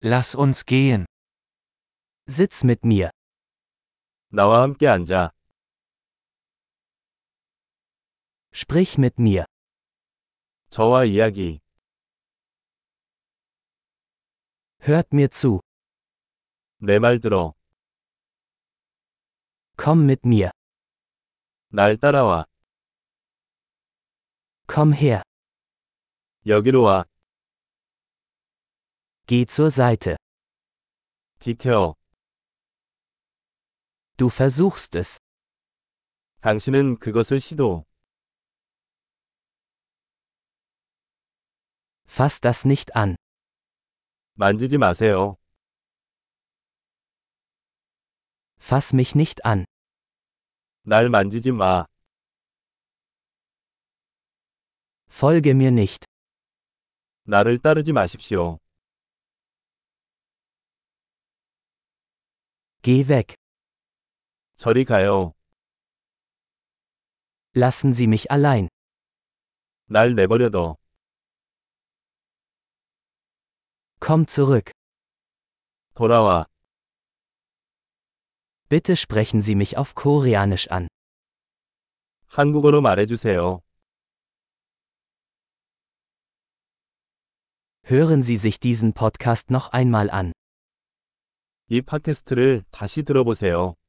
Lass uns gehen. Sitz mit mir. 나와 함께 앉아. Sprich mit mir. 저와 이야기. Hört mir zu. 내 말 들어. Komm mit mir. 날 따라와. Komm her. 여기로 와. Geh zur Seite. 비켜. Du versuchst es. 당신은 그것을 시도. Fass das nicht an. 만지지 마세요. Fass mich nicht an. 날 만지지 마. Folge mir nicht. 나를 따르지 마십시오. Geh weg. 저리 가요. Lassen Sie mich allein. 날 내버려둬. Komm zurück. 돌아와. Bitte sprechen Sie mich auf Koreanisch an. 한국어로 말해주세요. Hören Sie sich diesen Podcast noch einmal an. 이 팟캐스트를 다시 들어보세요.